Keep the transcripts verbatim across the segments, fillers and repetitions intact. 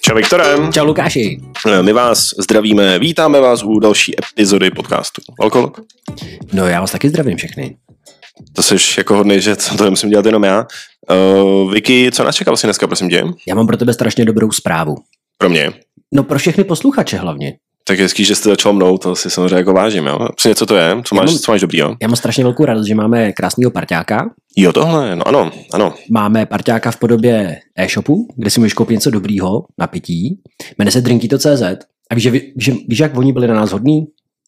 Čau Viktore. Čau Lukáši. My vás zdravíme, vítáme vás u další epizody podcastu Alkohol. No já vás taky zdravím všechny. To jsi jako hodnej, že to musím dělat jenom já. Uh, Vicky, co nás čeká vlastně dneska, prosím tě? Já mám pro tebe strašně dobrou zprávu. Pro mě? No pro všechny posluchače hlavně. Tak hezký, že jste začal mnou, to si samozřejmě jako vážím, jo? Přesně co to je? Co máš, mám, co máš dobrýho? Já mám strašně velkou radost, že máme krásného parťáka. Jo, tohle, no ano, ano. Máme parťáka v podobě e-shopu, kde si můžeš koupit něco dobrýho na pití. Jmenuje se drinkito tečka cé zet. A víš, že, víš, víš, jak oni byli na nás hodní?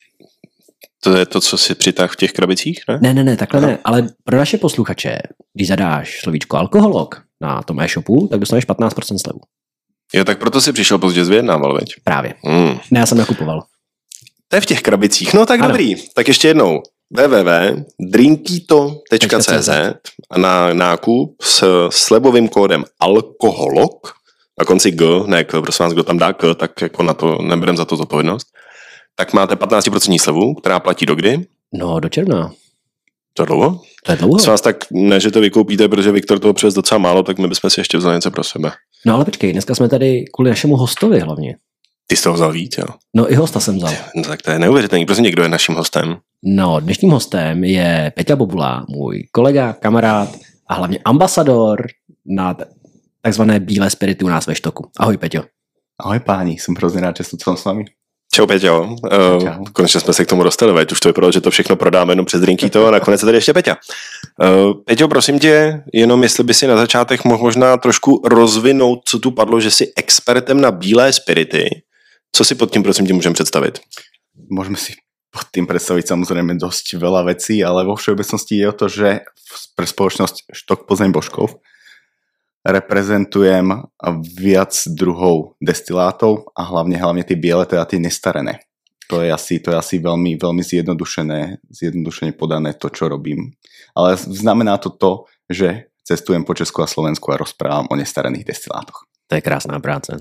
To je to, co si přitáhl v těch krabicích, ne? Ne, ne, ne, takhle Aha. ne. Ale pro naše posluchače, když zadáš slovíčko alkoholok na tom e-shopu, tak dostaneš patnáct procent slevu. Jo, tak proto si přišel pozdě vyjednával, veď? Právě. Mm. Ne, já jsem nakupoval. To je v těch krabicích. No tak ano. Dobrý. Tak ještě jednou. w w w tečka drinkito tečka cé zet a na nákup s slevovým kódem alkoholok, na konci G, ne K, prosím vás, kdo tam dá K, tak jako na to neberem za to zodpovědnost, tak máte patnáct procent slevu, která platí do kdy? No, do června. To je dlouho? To je dlouho. Prosím vás, tak ne, že to vykoupíte, protože Viktor toho přes docela málo, tak my bychom si ještě vzali něco pro sebe. No ale počkej, dneska jsme tady kvůli našemu hostovi hlavně. Ty jsi toho vzal víc, jo? No i hosta jsem vzal. No tak to je neuvěřitelný. Prosím, někdo je naším hostem? No, dnešním hostem je Peťa Bobula, můj kolega, kamarád a hlavně ambasador na takzvané bílé spirity u nás ve Štoku. Ahoj, Peťo. Ahoj páni, jsem hrozně rád, že jsem tu s vámi. Čau, Peťo. Uh, konečně jsme se k tomu dostali, veď už to vypadalo, že to všechno prodáme jenom přes Drinkito a nakonec je tady ještě Peťa. Uh, Peťo, prosím tě, jenom jestli by si na začátek mohl možná trošku rozvinout, co tu padlo, že jsi expertem na bílé spirity. Co si pod tím, prosím tě, můžeme představit? Môžeme si pod tým predstaviť samozrejme dosť veľa vecí, ale vo všeobecnosti je o to, že pre spoločnosť Štok Plzeň Božkov reprezentujem viac druhov destilátov a hlavne, hlavne tie biele, teda tie nestarené. To je asi, to je asi veľmi, veľmi zjednodušené, zjednodušene podané to, čo robím. Ale znamená to to, že cestujem po Česku a Slovensku a rozprávam o nestarených destilátoch. To je krásná práce.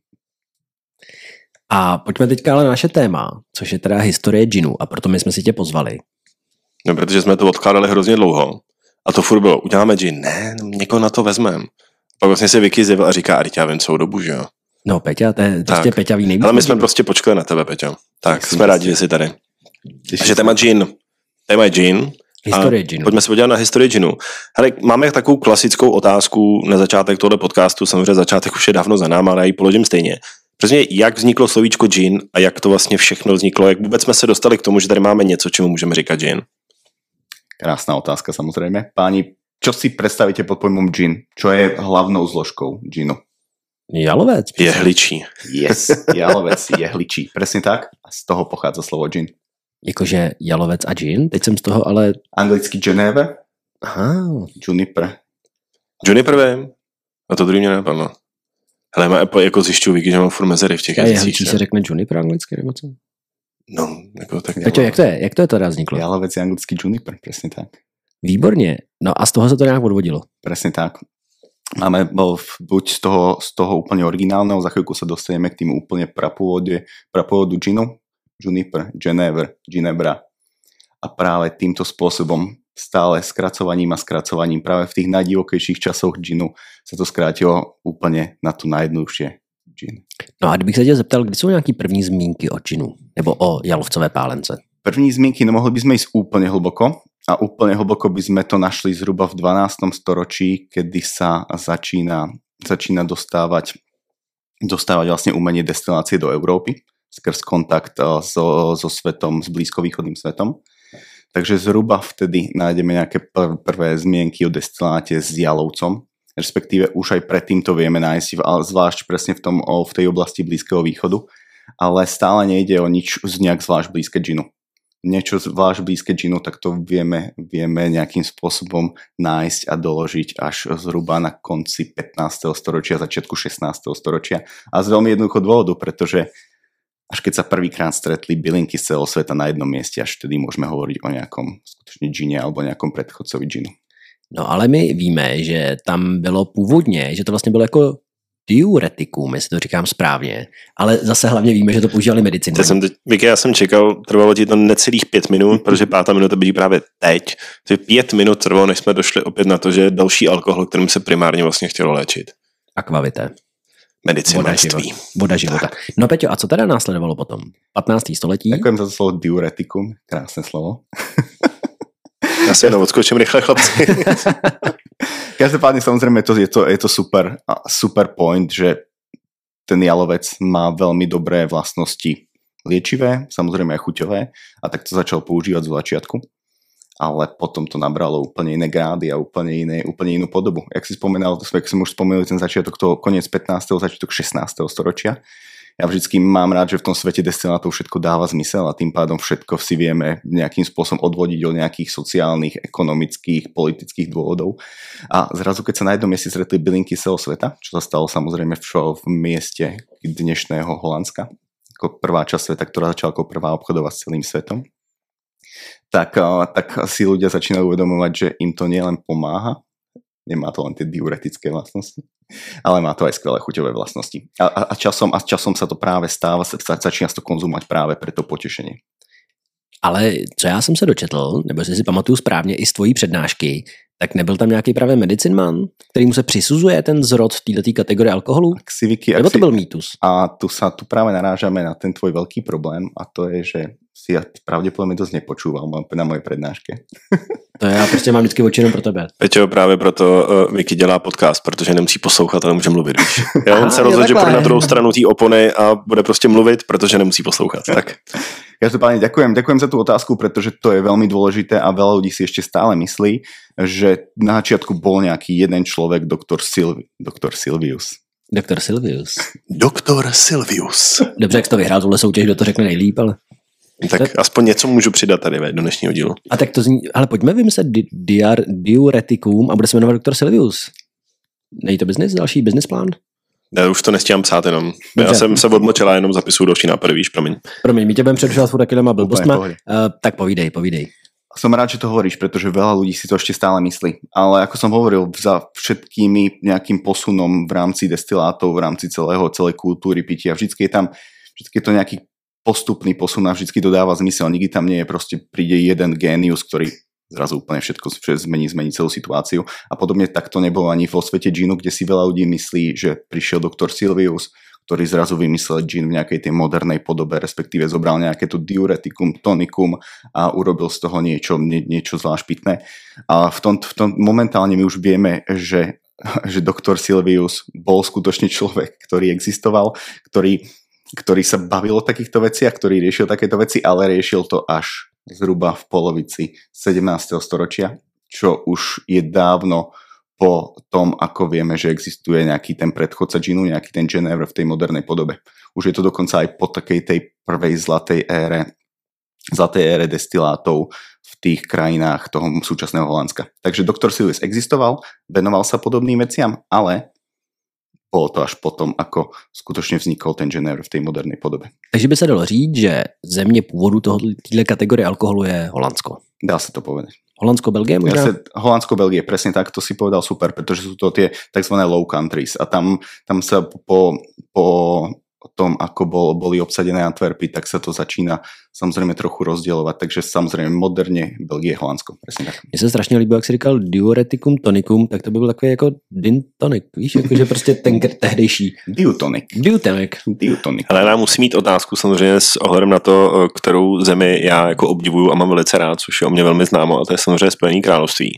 A pojďme teďka ale na naše téma, což je teda historie džinu a proto my jsme si tě pozvali. No, protože jsme to odkládali hrozně dlouho a to furt bylo, uděláme džin, ne, někoho na to vezmeme. Pak vlastně se Vicky zjevil a říká, a teď já vím celou dobu, že jo. No Peťa, to je prostě Peťa ví nejvíc. Ale my jsme prostě počkali na tebe, Peťo. Tak, tak jsme rádi, že jsi tady. Takže téma džin, téma je džin. Historie džinu. Pojďme se podívat na historii džinu. Hele, máme takovou klasickou otázku na začátek tohoto podcastu, samozřejmě začátek už je dávno za náma, ale já ji položím stejně. Přesně, jak vzniklo slovíčko džin a jak to vlastně všechno vzniklo, jak vůbec jsme se dostali k tomu, že tady máme něco, čemu můžeme říkat džin? Krásná otázka, samozrejme. Páni, čo si predstavíte pod pojmom džin? Čo je hlavnou zložkou džinu? Jalovec. Jehličí. Yes, jalovec, jehličí. Presne tak? A z toho pochádza slovo džin. Jakože jalovec a džin? Teď jsem z toho ale... Anglicky Geneve. Aha. Juniper. Juniper vím. A to druhý mě nenapadlo. Hele, má jako zjišťuju, Vicky, že mám furt mezery v těch jazycích. A jehličí se řekne juniper anglicky, nebo co? No, jako tak... Peťo, jak to je? Jak to je teda vzniklo? Jalovec je anglicky juniper, presne tak. Výborně. No a z toho se to nějak odvodilo. Presne tak. Máme buď z toho, z toho úplne originálneho, za chvíľku sa dostaneme k tým úplne prapôvodu, prapôvodu džinu, juniper, Genever, ginebra. A práve týmto spôsobom stále skracovaním a skracovaním práve v tých najdivokejších časoch džinu sa to skrátilo úplne na to najjednoduchšie džin. No a kdybych se tě zeptal, kdy jsou nějaký první zmínky o džinu? Nebo o jalovcové pálence? První zmínky, no mohli by sme ísť úplne hlboko. A úplne hlboko by sme to našli zhruba v dvanástom storočí, kedy sa začína, začína dostávať, dostávať vlastne umenie destilácie do Európy skrz kontakt so, so svetom, s blízkovýchodným svetom. Takže zhruba vtedy nájdeme nejaké pr- prvé zmienky o destiláte s jalovcom, respektíve už aj predtým to vieme nájsť, zvlášť presne v, tom, v tej oblasti Blízkeho východu, ale stále nejde o nič z nejak zvlášť blízke džinu. Niečo zvlášť blízke džinu, tak to vieme, vieme nejakým spôsobom nájsť a doložiť až zhruba na konci pätnásteho storočia, začiatku šestnásteho storočia. A z veľmi jednoduchého dôvodu, pretože až keď sa prvýkrát stretli bylinky z celého sveta na jednom mieste, až vtedy môžeme hovoriť o nejakom skutočne džine alebo nejakom predchodcovi džinu. No ale my víme, že tam bylo původně, že to vlastně bylo jako diuretikum, jestli to říkám správně, ale zase hlavně víme, že to používali medicíny. Jsem teď, Vicky, já jsem čekal, trvalo ti to necelých pět minut, protože pátá minuta byly právě teď. Takže pět minut trvalo, než jsme došli opět na to, že je další alkohol, kterým se primárně vlastně chtělo léčit. Akvavité. medicínství. Voda života. No Peťo, a co teda následovalo potom? patnácté století? Ďakujem za to slovo diuretikum. Krásne slovo. Já si jenom odskočím rychle, chlapci. Každopádne samozrejme to, je, to, je to super, super point, že ten jalovec má veľmi dobré vlastnosti liečivé, samozrejme aj chuťové, a tak to začal používať z začiatku. Ale potom to nabralo úplne iné grády a úplne, iné, úplne inú podobu. Jak si spomenal, to sme, jak som už spomenul, ten začiatok, to koniec pätnásteho začiatok šestnásteho storočia. Ja vždycky mám rád, že v tom svete destilátov všetko dáva zmysel a tým pádom všetko si vieme nejakým spôsobom odvodiť od nejakých sociálnych, ekonomických, politických dôvodov. A zrazu, keď sa na jednom mieste stretli bylinky celého sveta, čo sa stalo samozrejme v, v mieste dnešného Holandska, ako prvá časť sveta, ktorá začala ako prvá obchodovať s celým svetom, tak, tak si ľudia začínajú uvedomovať, že im to nielen pomáha, nemá to len tie diuretické vlastnosti, ale má to aj skvelé chuťové vlastnosti. A, a, a, časom, a časom sa to práve stáva, sa, začína to konzumovať práve pre to potešenie. Ale co já jsem se dočetl, nebo jestli si pamatuju správně i z tvojí přednášky, tak nebyl tam nějaký právě medicinman, kterýmu se přisuzuje ten zrod v této kategorii alkoholu? Aksiviky, nebo to aksi... byl mýtus? A tu sa tu práve narážame na ten tvoj veľký problém a to je, že si ja pravděpodobně dost nepočúval na mojej prednáške. To já prostě mám vždycky oči jenom pro tebe. Peťo, právě proto uh, Vicky dělá podcast, protože nemusí poslouchat a nemůže mluvit, víš. Já on se rozhodl, že půjde na druhou stranu té opony a bude prostě mluvit, protože nemusí poslouchat. Tak. Každopádne ďakujem, ďakujem za tú otázku, pretože to je veľmi dôležité a veľa ľudí si ešte stále myslí, že na začiatku bol nejaký jeden človek, doktor Silvi, doktor Silvius. Doktor Silvius. Doktor Silvius. Dobře, jak jsi to vyhrál, tuhle soutěž, kdo to řekne nejlíp, ale... Tak to... aspoň něco můžu přidat tady do dnešního dílu. A tak to zní, ale pojďme vymyslet di- diar, diuretikum a bude se jmenovat doktor Silvius. Není to business, další business plán? Já už to nestíhám psát jenom. Dobře. Já jsem se odmlčel a jenom zapisuju další nápady, víš, promiň. Promiň, my tě budeme předušovat furt takýhlema blbostma. Uh, tak povídej, povídej. Som rád, že to hovoríš, pretože veľa ľudí si to ešte stále myslí. Ale ako som hovoril, za všetkými nejakým posunom v rámci destilátov, v rámci celého, celej kultúry pitia, vždycky je tam, vždycky je to nejaký postupný posun a vždycky to dáva zmysel. Nikdy tam nie je proste, príde jeden génius, ktorý zrazu úplne všetko zmení, zmení celú situáciu. A podobne tak to nebolo ani vo svete džinu, kde si veľa ľudí myslí, že prišiel doktor Silvius, ktorý zrazu vymyslel džin v nejakej tej modernej podobe, respektíve zobral nejaké to diuretikum, tonikum a urobil z toho niečo, nie, niečo zvlášť pitné. A v tom, v tom momentálne my už vieme, že, že doktor Silvius bol skutočne človek, ktorý existoval, ktorý, ktorý sa bavil o takýchto veciach, ktorý riešil takéto veci, ale riešil to až zhruba v polovici sedemnásteho storočia, čo už je dávno po tom, ako vieme, že existuje nejaký ten predchodca džinu, nejaký ten Genever v tej modernej podobe. Už je to dokonca aj po takej tej prvej zlatej ére, zlatej ére destilátov v tých krajinách toho súčasného Holandska. Takže doktor Silvius existoval, venoval sa podobným veciam, ale bolo to až potom, ako skutočne vznikol ten Genever v tej modernej podobe. Takže by sa dalo říct, že země původu téhle kategorie alkoholu je Holandsko. Dá sa to povedať. Holandsko, Belgie možná? Ja sa, Holandsko, Belgie, presne tak, to si povedal super, pretože sú to tie tzv. Low countries a tam, tam sa po, po tom, ako bol, boli obsadené Antwerpy, tak sa to začína samozrejme trochu rozdielovať, takže samozrejme moderne Belgie, Holandsko, presne tak. Mně se strašně líbilo, jak jsi říkal diuretikum, tonikum, tak to by byl takový jako din tonic, víš, jakože prostě ten tehdejší. Diutonic. Diutonic. Diutonic. Ale já musím mít otázku samozřejmě s ohledem na to, kterou zemi já jako obdivuju a mám velice rád, což je o mě velmi známo, a to je samozřejmě Spojené království.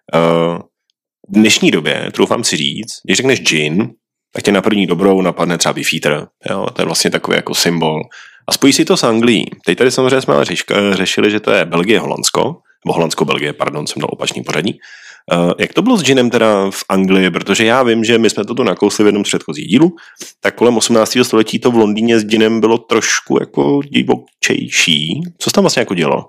V dnešní době, troufám si říct, když řekneš gin, tak tě na první dobrou napadne třeba Beefeater. Jo, to je vlastně takový jako symbol. A spojí si to s Anglií. Teď tady samozřejmě jsme ale řešili, že to je Belgie, Holandsko, nebo Holandsko-Belgie, pardon, jsem dal opačný pořadí. Uh, jak to bylo s ginem teda v Anglii? Protože já vím, že my jsme to tu nakousli v jednom z předchozích dílů, tak kolem osmnáctého století to v Londýně s ginem bylo trošku jako divočejší. Co se tam vlastně jako dělo?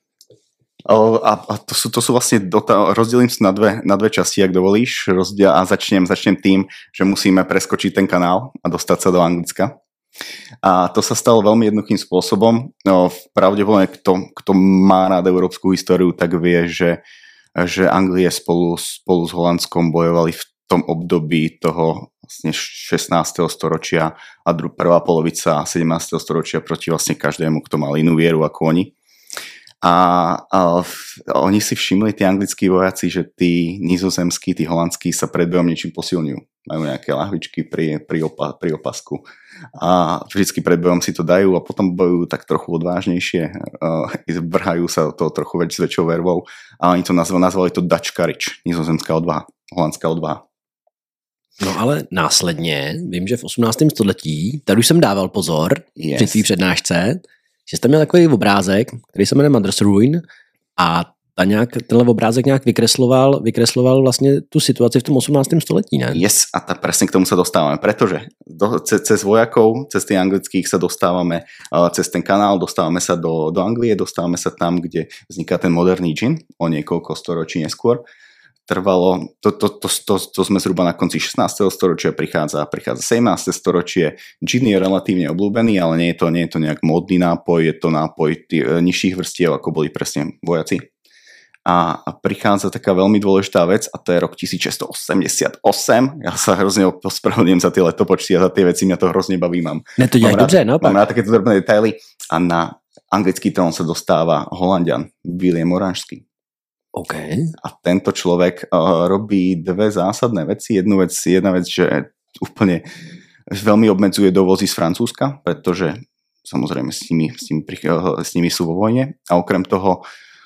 A, a to, sú, to sú vlastne, rozdelím sa na dve, na dve časti, ak dovolíš, rozdiel, a začnem, začnem tým, že musíme preskočiť ten kanál a dostať sa do Anglicka. A to sa stalo veľmi jednoduchým spôsobom. No, pravdepodobne, kto, kto má rád európsku históriu, tak vie, že, že Anglie spolu, spolu s Holandskom bojovali v tom období toho vlastne šestnásteho storočia a prvá polovica sedemnásteho storočia proti vlastne každému, kto mal inú vieru ako oni. A, a v, oni si všimli, tí anglickí vojaci, že tí nizozemskí, tí holandskí sa pred bojom niečím posilňujú. Majú nejaké lahvičky pri, pri, opa, pri opasku. A vždycky pred bojom si to dajú a potom bojujú tak trochu odvážnejšie. Uh, vrhajú sa to trochu väč, s väčšou vervou. A oni to nazvali, nazvali to Dutch courage, nizozemská odvaha, holandská odvaha. No ale následně, vím, že v osmnáctém století, tady už jsem dával pozor yes. při tvý přednášce, že jste měl takový obrázek, který se jmenuje Mother's Ruin a ta nějak, tenhle obrázek nějak vykresloval, vykresloval vlastně tu situaci v tom osmnáctém století, ne? Yes, a ta, presne k tomu sa dostávame, pretože do, ce, cez vojakov, cez tých anglických sa dostávame, uh, cez ten kanál dostávame sa do, do Anglie, dostávame sa tam, kde vzniká ten moderný džin, o niekoľko storočí neskôr. Trvalo, to, to, to, to, to sme zhruba na konci šestnásteho storočia, prichádza, prichádza sedemnáste storočie. Gin je relatívne obľúbený, ale nie je to, nie je to nejak módny nápoj, je to nápoj tých nižších vrstiev, ako boli presne vojaci. A, a prichádza taká veľmi dôležitá vec a to je rok tisícšesťstoosemdesiatosem. Ja sa hrozne ospravedlňujem za tie letopočty a za tie veci, mňa to hrozne baví. Mám, ne, to mám, rád, dobře, no, mám rád takéto drobné detaily a na anglický trón sa dostáva Holanďan William Oranžský. Okay. A tento človek uh, robí dve zásadné veci. Jednu vec, jedna vec, že úplne veľmi obmedzuje dovozy z Francúzska, pretože samozrejme s nimi, s nimi, uh, s nimi sú vo vojne. A okrem toho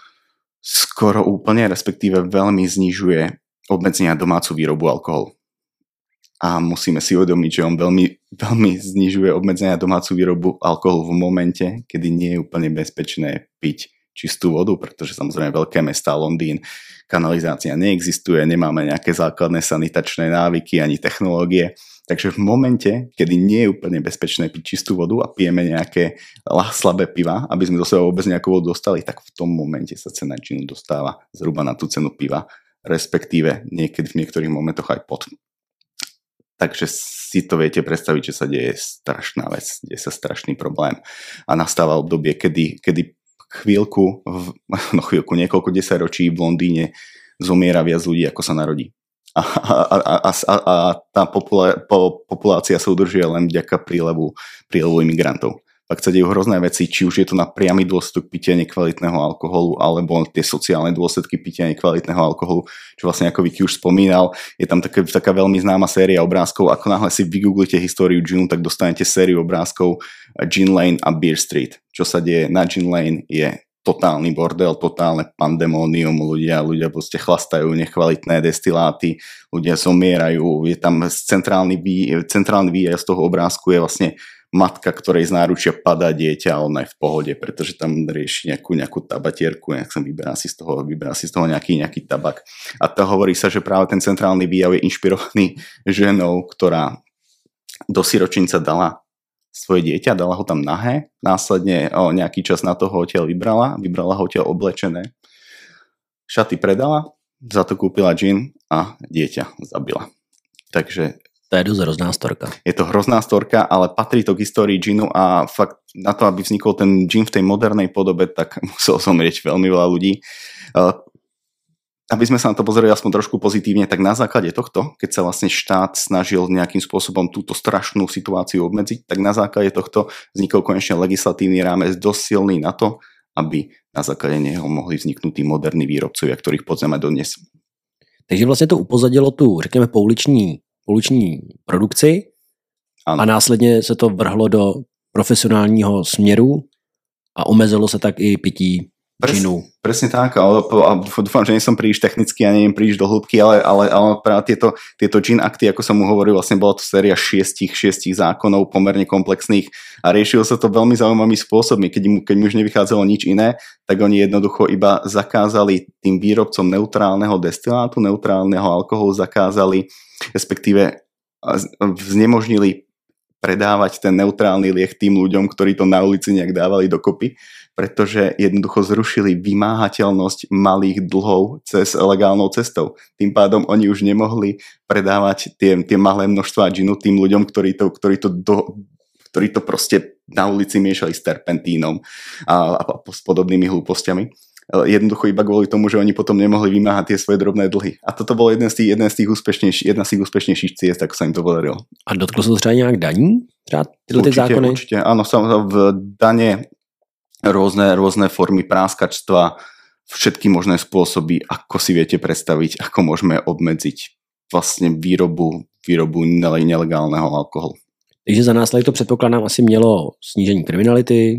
skoro úplne, respektíve veľmi znižuje obmedzenia domácu výrobu alkoholu. A musíme si uvedomiť, že on veľmi, veľmi znižuje obmedzenia domácu výrobu alkoholu v momente, kedy nie je úplne bezpečné piť čistú vodu, pretože samozrejme veľké mestá, Londýn, kanalizácia neexistuje, nemáme nejaké základné sanitačné návyky ani technológie. Takže v momente, kedy nie je úplne bezpečné piť čistú vodu a pijeme nejaké slabé piva, aby sme do seba vôbec nejakú vodu dostali, tak v tom momente sa cena džinu dostáva zhruba na tú cenu piva, respektíve niekedy v niektorých momentoch aj pod. Takže si to viete predstaviť, že sa deje strašná vec, deje sa strašný problém a nastáva obdobie, kedy, kedy chvíľku, no chvíľku, niekoľko desaťročí v Londýne zomiera viac ľudí, ako sa narodí. A, a, a, a, a tá popula, po, populácia sa udržuje len vďaka prílevu, prílevu imigrantov. Pak sa dejú hrozné veci, či už je to na priamy dôsledok pitia nekvalitného alkoholu, alebo tie sociálne dôsledky pitia nekvalitného alkoholu, čo vlastne ako Vicky už spomínal, je tam taká, taká veľmi známa séria obrázkov. Ako náhle si vygooglite históriu ginu, tak dostanete sériu obrázkov Gin Lane a Beer Street. Čo sa deje na Gin Lane je totálny bordel, totálne pandemónium, ľudia, ľudia proste chlastajú nekvalitné destiláty, ľudia zomierajú, je tam centrálny, vý, centrálny výjazd z toho obrázku je vlastne matka, ktorej z náručia padá dieťa, ale ona je v pohode, pretože tam rieši nejakú, nejakú tabatierku, nejak sa vyberá si z toho, vyberá si z toho nejaký, nejaký tabak. A to hovorí sa, že práve ten centrálny výjav je inšpirovaný ženou, ktorá do siročinca dala svoje dieťa, dala ho tam nahé, následne o nejaký čas na toho odtiaľ vybrala, vybrala ho odtiaľ oblečené, šaty predala, za to kúpila džin a dieťa zabila. Takže to je dosť hrozná storka. Je to hrozná storka, ale patrí to k histórii džinu a fakt na to, aby vznikol ten džin v tej modernej podobe, tak muselo zomrieť veľmi veľa ľudí. Aby sme sa na to pozreli aspoň trošku pozitívne, tak na základe tohto, keď sa vlastne štát snažil nejakým spôsobom túto strašnú situáciu obmedziť, tak na základe tohto vznikol konečne legislatívny rámec dosť silný na to, aby na základe neho mohli vzniknúť tí moderní výrobcovia, ktorých poznáme dodnes. Takže vlastne to upozadilo tu, řekněme, pouliční pouliční produkci ano. A následně se to vrhlo do profesionálního směru a omezilo se tak i pití džinu. Pres, presne tak, ale dúfam, že nie som príliš technický a neviem príliš do hĺbky, ale, ale, ale práve tieto, tieto gin akty, ako som mu hovoril, vlastne bola to séria šiestich, šiestich zákonov, pomerne komplexných a riešilo sa to veľmi zaujímavými spôsobmi. Keď mu, keď mu už nevychádzalo nič iné, tak oni jednoducho iba zakázali tým výrobcom neutrálneho destilátu, neutrálneho alkoholu, zakázali, respektíve znemožnili predávať ten neutrálny liek tým ľuďom, ktorí to na ulici nejak dávali dokopy, pretože jednoducho zrušili vymáhateľnosť malých dlhov cez legálnou cestou. Tým pádom oni už nemohli predávať tie, tie malé množstvá džinu tým ľuďom, ktorí to, ktorí to, do, ktorí to proste na ulici miešali s terpentínom a, a s podobnými hlúpostiami. Jednoducho iba kvôli tomu, že oni potom nemohli vymáhať tie svoje drobné dlhy. A toto bolo jeden z tých, jeden z tých úspešnejších, jedna z tých úspešnejších ciest, ako sa im to podarilo. A dotklo sa to třeba nejak daní? Třeba tyhle určite, zákony? Určite, áno, v dane rôzne, rôzne formy práskačstva, všetky možné spôsoby, ako si viete predstaviť, ako môžeme obmedziť vlastně výrobu, výrobu nelegálneho alkoholu. Takže za následek to předpokládám asi mělo snížení kriminality,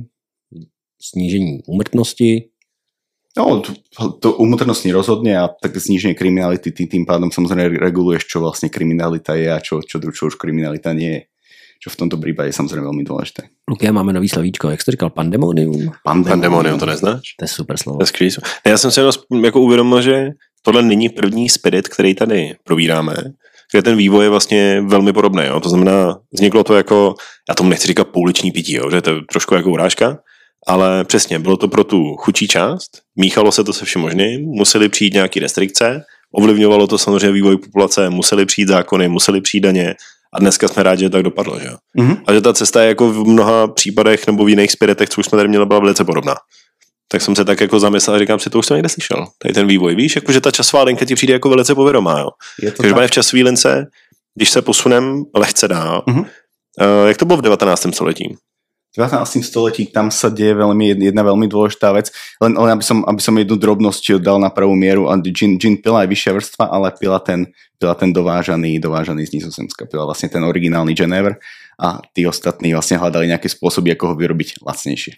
snížení úmrtnosti. No, to, to úmrtnostní rozhodne a tak zníženie kriminality, tým, tým pádom samozrejme reguluješ, čo vlastne kriminalita je a čo, čo, čo už kriminalita nie je. Čo v tomto prípade je samozrejme veľmi dôležité. Luky, máme nový slovíčko, jak jsi to říkal, pandemonium? Pandemonium, Pandemonium to neznáš? To je super slovo. To je skvělý. Já jsem si jako uvědomil, že tohle není první spirit, který tady probíráme, kde ten vývoj je vlastně velmi podobný. Jo? To znamená, vzniklo to jako, já tomu nechci říkat pouliční pití, jo? Že to je trošku jako urážka, ale přesně, bylo to pro tu chudší část, míchalo se to se všem možným, museli přijít nějaké restrikce, ovlivňovalo to samozřejmě vývoj populace, museli přijít zákony, museli přijít daně a dneska jsme rádi, že tak dopadlo. Že? Mm-hmm. A že ta cesta je jako v mnoha případech nebo v jiných spiritech, co už jsme tady měli, byla velice podobná. Tak jsem se tak jako zamyslel a říkám si, to už jsem někde slyšel. Tady ten vývoj, víš, jakože ta časová linka ti přijde jako velice povědomá. Jo? Takže v časové lince, když se posunem lehce dál, mm-hmm. uh, jak to bylo v devätnástom století? V devätnástom století tam sa deje veľmi, jedna veľmi dôležitá vec, len, len aby, som, aby som jednu drobnosť dal na pravú mieru. Gin, gin pila aj vyššia vrstva, ale pila ten, pila ten dovážaný, dovážaný z Nizozemska, pila vlastne ten originálny Genever a tí ostatní vlastne hľadali nejaké spôsoby, ako ho vyrobiť lacnejšie.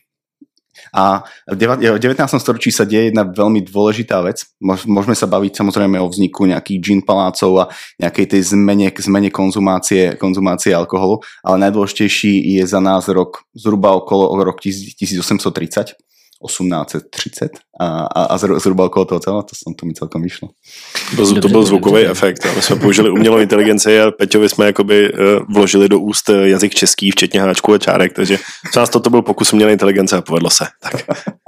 A v devätnástom storočí sa deje jedna veľmi dôležitá vec. Môžeme sa baviť samozrejme o vzniku nejakých gin palácov a nejakej tej zmene, zmene konzumácie, konzumácie alkoholu, ale najdôležitejší je za nás rok zhruba okolo rok tisícosemsto tridsať, osemnásť tridsať a, a, a zhruba okolo toho celého, to som to mi celkom vyšlo. To, to byl zvukový efekt. My jsme použili umělou inteligenci a Peťovi jsme jakoby vložili do úst jazyk český, včetně háčků a čárek, takže co nás toto byl pokus umělé inteligence a povedlo se. Tak.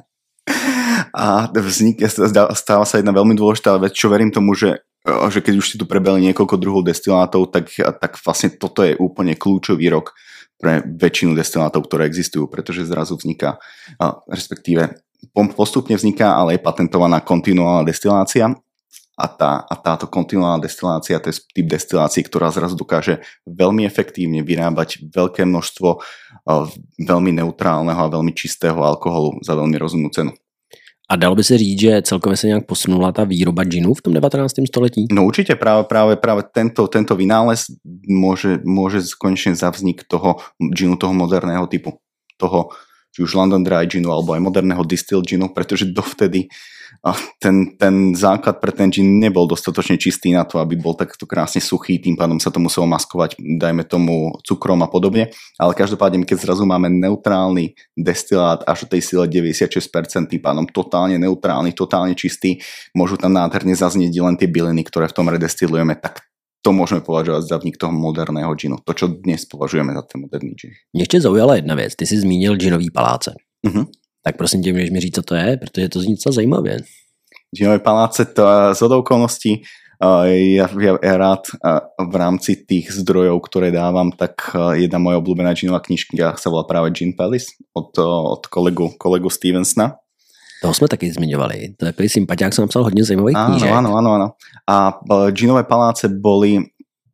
A vznik, stáva sa jedna veľmi dôležitá vec, čo verím tomu, že, že keď už si tu prebehli niekoľko druhov destilátov, tak, tak vlastne toto je úplne kľúčový rok pre väčšinu destilátov, ktoré existujú, pretože zrazu vzniká, respektíve postupne vzniká, ale je patentovaná kontinuálna destilácia a, tá, a táto kontinuálna destilácia, to je typ destilácie, ktorá zrazu dokáže veľmi efektívne vyrábať veľké množstvo veľmi neutrálneho a veľmi čistého alkoholu za veľmi rozumnú cenu. A dalo by se říct, že celkově se nějak posunula ta výroba džinu v tom devätnástom století? No určite práve, práve, práve tento, tento vynález môže, môže konečne za vznik toho džinu, toho moderného typu. Toho, či už London Dry džinu, alebo aj moderného distill džinu, pretože dovtedy ten, ten základ pre ten džin nebol dostatočne čistý na to, aby bol takto krásne suchý, tým pádom sa to muselo maskovať, dajme tomu cukrom a podobne, ale každopádne, keď zrazu máme neutrálny destilát až do tej sile deväťdesiatšesť percent, tým pádom totálne neutrálny, totálne čistý, môžu tam nádherne zaznieť len tie byliny, ktoré v tom redestilujeme, tak to môžeme považovať za vznik toho moderného džinu, to, čo dnes považujeme za ten moderný džin. Mě ještě zaujala jedna věc, ty jsi zmínil džinový paláce. Uh-huh. Tak prosím tě, můžeš mi říct, co to je, protože to zní docela zajímavě. Džinové paláce, to z okolností, ja, ja, ja rád v rámci tých zdrojov, ktoré dávam, tak jedna moja obľúbená džinová knižka sa volá práve Gin Palace od, od kolegu, kolegu Stevensona. Toho jsme taky zmiňovali. To je takový sympatiák, jsem napsal hodně zajímavých knížek. Áno, áno, áno. A džinové paláce boli,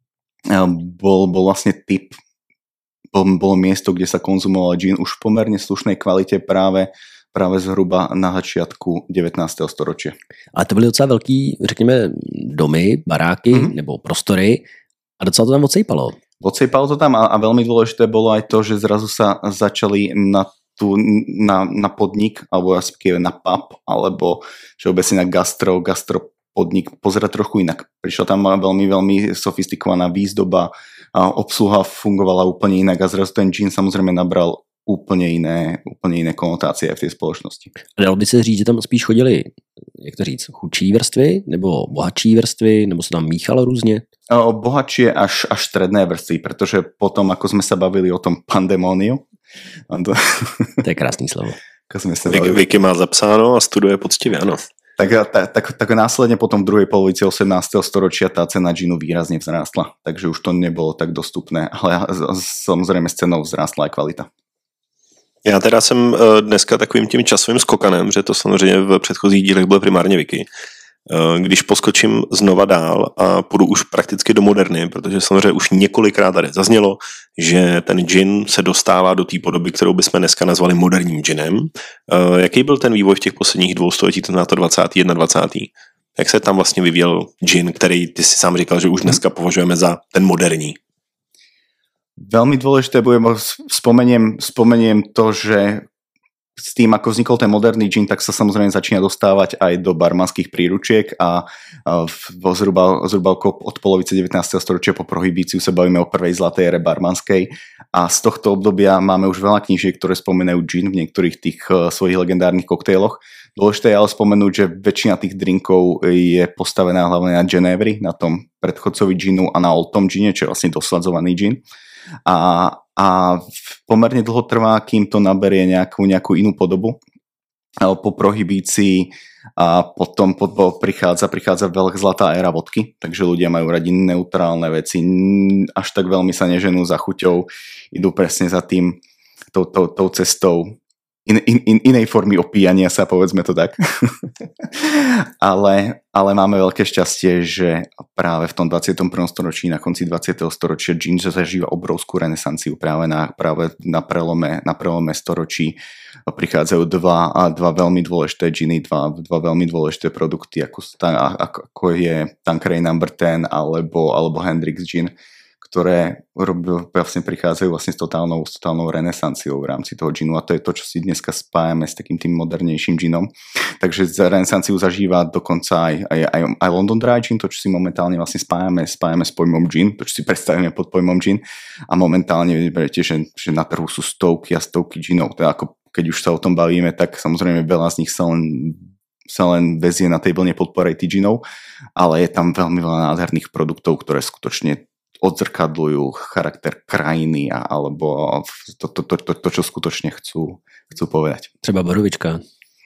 bol, bol vlastne typ, bol, bolo miesto, kde sa konzumoval džin už v pomerne slušnej kvalite práve, práve zhruba na začiatku devätnásteho storočia. Ale to byly docela velký, řekněme, domy, baráky mm-hmm. nebo prostory a docela to tam odsejpalo. Odsejpalo to tam a, a veľmi dôležité bolo aj to, že zrazu sa začali na tu na, na podnik, alebo respektíve na pub, alebo všeobecne na gastro, gastro podnik pozerať trochu inak. Prišla tam veľmi, veľmi sofistikovaná výzdoba, a obsluha fungovala úplne inak a zrazu ten džin samozrejme nabral úplne iné, úplne iné konotácie v tej spoločnosti. Dalo by se říct, že tam spíš chodili, jak to říct, chudší vrstvy, nebo bohatší vrstvy, nebo se tam míchalo různě? O, bohatšie až, až stredné vrstvy, pretože potom, ako sme sa bavili o tom pandemóniu, to... to je krásný slovo. Vicky, Vicky má zapsáno a studuje poctivě, ano. Tak, tak, tak, tak následne potom v druhej polovici osemnásteho storočia tá cena džinu výrazne vzrástla, takže už to nebolo tak dostupné, ale samozrejme s cenou vzrástla aj kvalita. Já teda jsem dneska takovým tím časovým skokanem, že to samozřejmě v předchozích dílech byl primárně Vicky, Když poskočím znova dál a půjdu už prakticky do moderny, protože samozřejmě už několikrát tady zaznělo, že ten gin se dostává do té podoby, kterou bychom dneska nazvali moderním ginem. Jaký byl ten vývoj v těch posledních dvou století, to na to dvacátý, dvacátý první? Jak se tam vlastně vyvíjel gin, který ty si sám říkal, že už dneska považujeme za ten moderní? Veľmi dôležité bude, spomeniem, spomeniem to, že s tým, ako vznikol ten moderný gin, tak sa samozrejme začína dostávať aj do barmanských príručiek a v, zhruba, zhruba od polovice devätnásteho storočia po prohibíciu sa bavíme o prvej zlatej ére barmanskej a z tohto obdobia máme už veľa knížiek, ktoré spomínajú gin v niektorých tých svojich legendárnych koktejloch. Dôležité je ale spomenúť, že väčšina tých drinkov je postavená hlavne na Genévri, na tom predchodcovi ginu a na Old Tom gine, čo je vlastne dosladzovaný gin. A, a pomerne dlho trvá, kým to naberie nejakú, nejakú inú podobu. Po prohibícii a potom po, po, prichádza, prichádza veľká zlatá éra vodky, takže ľudia majú radi neutrálne veci, až tak veľmi sa neženú za chuťou, idú presne za tým, tou, tou, tou cestou in, in, in, inej formy opíjania sa, povedzme to tak. ale, ale máme veľké šťastie, že práve v tom dvadsiatom prvom storočí, na konci dvadsiateho storočia gin zažíva obrovskú renesanciu práve na, práve na prelome, na prelome storočí. Prichádzajú dva, dva veľmi dôležité giny, dva, dva veľmi dôležité produkty, ako, ako je Tanqueray number ten alebo, alebo Hendrix gin, ktoré vlastne prichádzajú vlastne s totálnou, s totálnou renesanciou v rámci toho ginu a to je to, čo si dneska spájame s takým tým modernejším ginom. Takže renesanciu zažíva dokonca aj, aj, aj, aj London Dry gin, to, čo si momentálne vlastne spájame, spájame s pojmom gin, to, čo si predstavíme pod pojmom gin a momentálne vidíte, že, že na trhu sú stovky a stovky ginov, teda ako keď už sa o tom bavíme, tak samozrejme veľa z nich sa len sa len vezie na tej vlne podporej ginov, ale je tam veľmi veľa nádherných produktov, ktoré skutočne odzrkadľujú charakter krajiny a, alebo to, to, to, to, to, čo skutočne chcú, chcú povedať. Třeba borovička.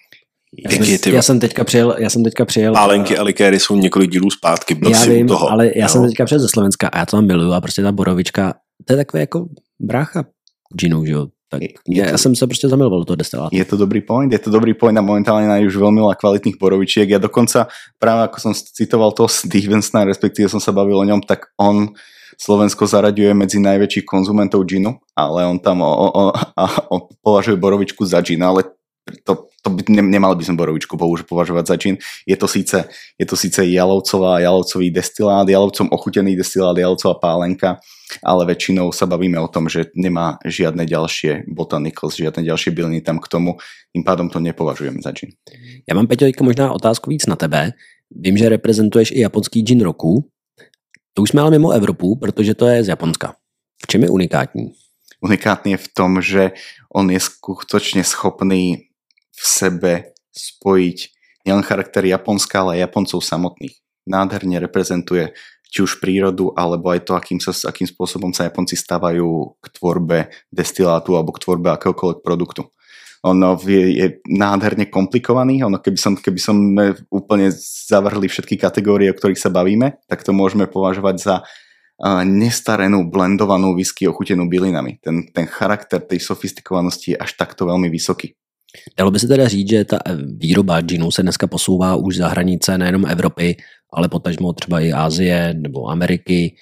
Já jsem, já jsem teďka přijel, já jsem teďka přijel. Pálenky a likéry jsou několik dílů zpátky, byl já si vím, u toho. ale já no. jsem teďka přijel ze Slovenska a já to tam miluju a prostě ta borovička, to je takové jako brácha džinu, že jo. Tak ja, ja som sa proste zamiloval do toho destilátu. Je to dobrý point, je to dobrý point a momentálne nájdeš už veľmi veľa kvalitných borovičiek. Ja dokonca, práve ako som citoval toho Stevensona, respektíve som sa bavil o ňom, tak on Slovensko zaraďuje medzi najväčších konzumentov džinu, ale on tam o, o, o, o, považuje borovičku za džin, ale to, to by, ne, nemali by sme borovičku považovať za džin. Je to síce, je to síce jalovcová, jalovcový destilát, jalovcom ochutený destilát, jalovcová pálenka, ale väčšinou sa bavíme o tom, že nemá žiadne ďalšie botanicals, žiadne ďalšie byliny tam k tomu, tým pádom to nepovažujeme za gin. Já mám, Peťo, možná otázku víc na tebe. Vím, že reprezentuješ i japonský gin roku. To už jsme ale mimo Evropu, protože to je z Japonska. V čem je unikátní? Unikátny je v tom, že on je skutočne schopný v sebe spojiť nielen charakter Japonska, ale aj Japoncov samotných. Nádherne reprezentuje či už prírodu, alebo aj to, akým, sa, akým spôsobom sa Japonci stavajú k tvorbe destilátu alebo k tvorbe akéhokoľvek produktu. Ono je, je nádherne komplikovaný, ono keby som, keby som úplne zavrhli všetky kategórie, o ktorých sa bavíme, tak to môžeme považovať za uh, nestarenú, blendovanú whisky ochutenú bylinami. Ten, ten charakter tej sofistikovanosti je až takto veľmi vysoký. Dalo by se teda říct, že ta výroba džinu se dneska posouvá už za hranice nejenom Evropy, ale potažmo třeba i Ázie nebo Ameriky.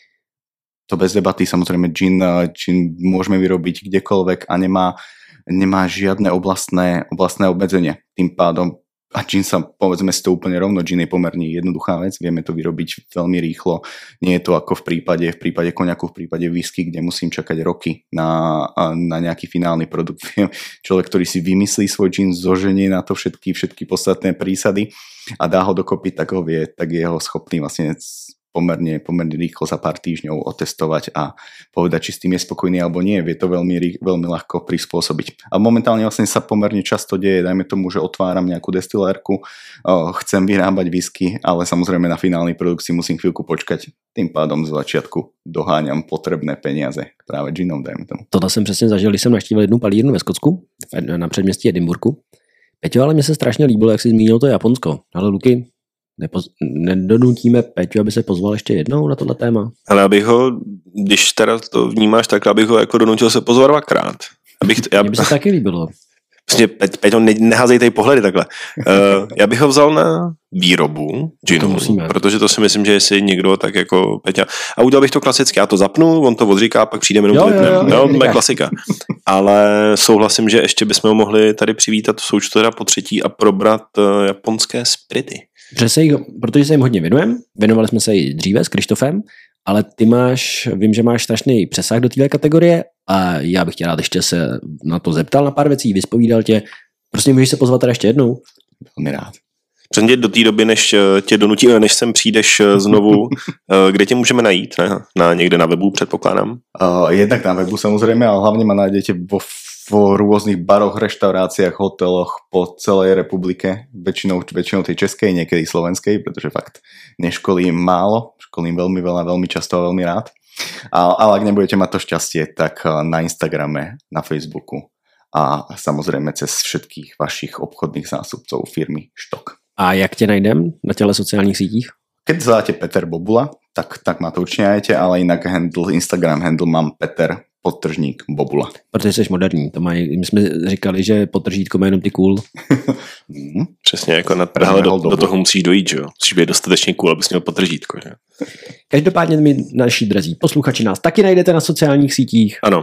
To bez debaty, samozrejme gin, gin môžeme vyrobiť kdekoľvek a nemá, nemá žiadne oblastné, oblastné obmedzenie. Tým pádom a gin sa, povedzme si to úplne rovno, gin je pomerne jednoduchá vec, vieme to vyrobiť veľmi rýchlo. Nie je to ako v prípade, v prípade koniaku, v prípade whisky, kde musím čakať roky na, na nejaký finálny produkt. Človek, ktorý si vymyslí svoj gin, zoženie na to všetky, všetky podstatné prísady a dá ho dokopy, tak ho vie, tak je ho schopný vlastne pomerne, pomerne rýchlo za pár týždňov otestovať a povedať, či s tým je spokojný alebo nie. Vie to veľmi, veľmi ľahko prispôsobiť. A momentálne vlastne sa pomerne často deje, dajme tomu, že otváram nejakú destilérku, chcem vyrábať whisky, ale samozrejme na finálny produkt si musím chvíľku počkať. Tým pádom z začiatku doháňam potrebné peniaze práve ginom, dajme tomu. Tohle jsem přesně zažil, když jsem navštívil jednu palírnu ve Skotsku, na předměstí Edinburghu. Peťo, ale mně se strašně líbilo, jak jsi zmínil to Japonsko. Ale Luky, Nepoz... nedonutíme Peťu, aby se pozval ještě jednou na tohle téma? Ale abych ho, když teda to vnímáš tak, abych ho jako donutil se pozvat dvakrát. Abych, já... Mně by se taky líbilo. Vlastně, Pe- Peťo, ne, neházej tady pohledy takhle. Uh, já bych ho vzal na výrobu ginu, protože to si myslím, že jestli někdo tak jako Peťa. A udělal bych to klasicky, já to zapnu, on to odříká, pak přijde jenom to vypnem. Jo, to je klasika. Ale souhlasím, že ještě bychom ho mohli tady přivítat v součtu teda po třetí a probrat uh, japonské spirity. Jich, protože se jim hodně věnujeme, věnovali jsme se i dříve s Krištofem, ale ty máš, vím, že máš strašný přesah do téhle kategorie a já bych tě rád ještě se na to zeptal na pár věcí, vyspovídal tě. Prostě můžeš se pozvat teda ještě jednou? Velmi rád. Přesně do té doby, než tě donutíme, než sem přijdeš znovu, kde tě můžeme najít? Ne? Na, někde na webu, předpokládám? Uh, jednak na webu samozrejme, ale hlavne ma nájdete vo, vo rôznych baroch, reštauráciách, hoteloch po celej republike, väčšinou, väčšinou tej českej, niekedy slovenskej, pretože fakt neškolím málo, školím veľmi veľa, veľmi často a veľmi rád. A, ale ak nebudete mať to šťastie, tak na Instagrame, na Facebooku a samozrejme cez všetkých vašich obchodných zástupcov firmy Štok. A jak tě najdem na těle sociálních sítích? Keď zadáte Peter Bobula, tak, tak ma to určite nájdete, ale inak handle, Instagram handle mám Peter podtržník Bobula. Protože jsi moderní, to mají, my jsme říkali, že podtržítko má jenom ty cool. mm, Přesně, jako na, hele, do, do toho musíš dojít, že jo? Musíš být dostatečně cool, abys měl podtržítko, že? Každopádně my, naši drazí posluchači, nás taky najdete na sociálních sítích. Ano.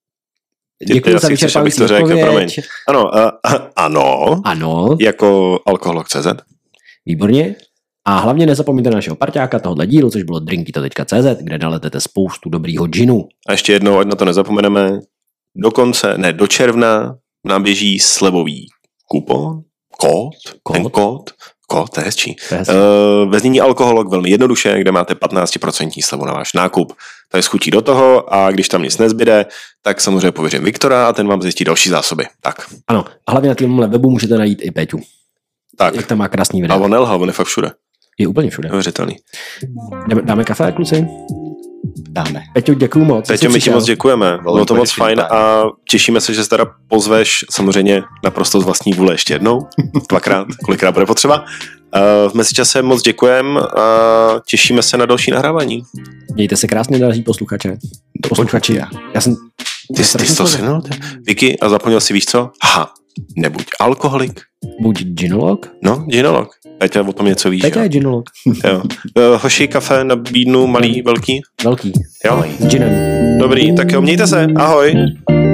Děkuji za vyčerpávající odpověď. Ano, a, a, ano. Ano. Jako alkoholok tečka cé zet. Výborně. A hlavně nezapomeňte našeho parťáka tohohle dílu, což bylo drinkito tečka cé zet, kde naletete spoustu dobrýho džinu. A ještě jednou, ať na to nezapomeneme, do konce, ne, do června nám běží slevový kupon, kód, kód? ten kód, kód, to je hezčí. To je hezčí. Uh, ve znění alkoholok velmi jednoduše, kde máte patnáct procent slevu na váš nákup. To je schutí do toho a když tam nic nezbyde, tak samozřejmě pověřím Viktora a ten vám zjistí další zásoby. Tak. Ano, a hlavně na tomhle webu můžete najít i Péťu. Tak. Jak tam má krásný video. A on nelhal, on je fakt všude. Je úplně všude. Neuvěřitelný. Dáme, dáme kafe, kluci? Dáme. Peťo, děkuju moc. Peťo, my ti moc děkujeme. Bylo to moc fajn a těšíme se, že se teda pozveš samozřejmě naprosto z vlastní vůle ještě jednou. Dvakrát, kolikrát bude potřeba. V mezičase moc děkujeme a těšíme se na další nahrávání. Mějte se krásně, další posluchače. Posluchači. Já, já jsem... Ty jsi to synul? Vicky, a zapomněl si, víš co? Aha, nebuď alkoholik. Buď ginolog? No, ginolog. Peťa o tom něco víš. Peťa je ginolog. Jo. Hoši, kafe nabídnu, malý, velký? Velký. Jo. S ginem. Dobrý, tak jo, mějte se. Ahoj.